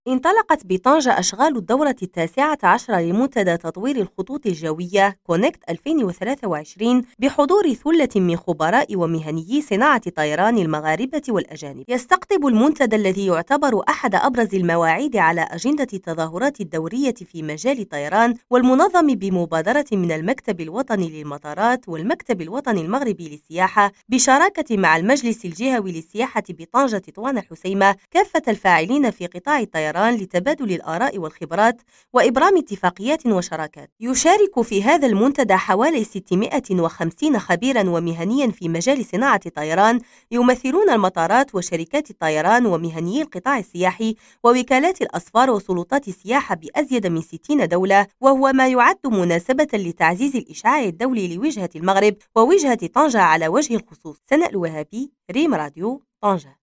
انطلقت بطنجة أشغال الدورة 19 لمنتدى تطوير الخطوط الجوية كونكت 2023 بحضور ثلة من خبراء ومهنيي صناعة طيران المغاربة والأجانب. يستقطب المنتدى الذي يعتبر أحد أبرز المواعيد على أجندة التظاهرات الدورية في مجال الطيران والمنظم بمبادرة من المكتب الوطني للمطارات والمكتب الوطني المغربي للسياحة بشراكة مع المجلس الجهوي للسياحة بطنجة طوان الحسيمة كافة الفاعلين في قطاع الطيران لتبادل الآراء والخبرات وإبرام اتفاقيات وشراكات. يشارك في هذا المنتدى حوالي 650 خبيرا ومهنيا في مجال صناعة الطيران يمثلون المطارات وشركات الطيران ومهنيي القطاع السياحي ووكالات الأسفار وسلطات السياحة بأزيد من 60 دولة، وهو ما يعد مناسبة لتعزيز الإشعاع الدولي لوجهة المغرب ووجهة طنجة على وجه الخصوص. سناء الوهابي، ريم راديو، طنجة.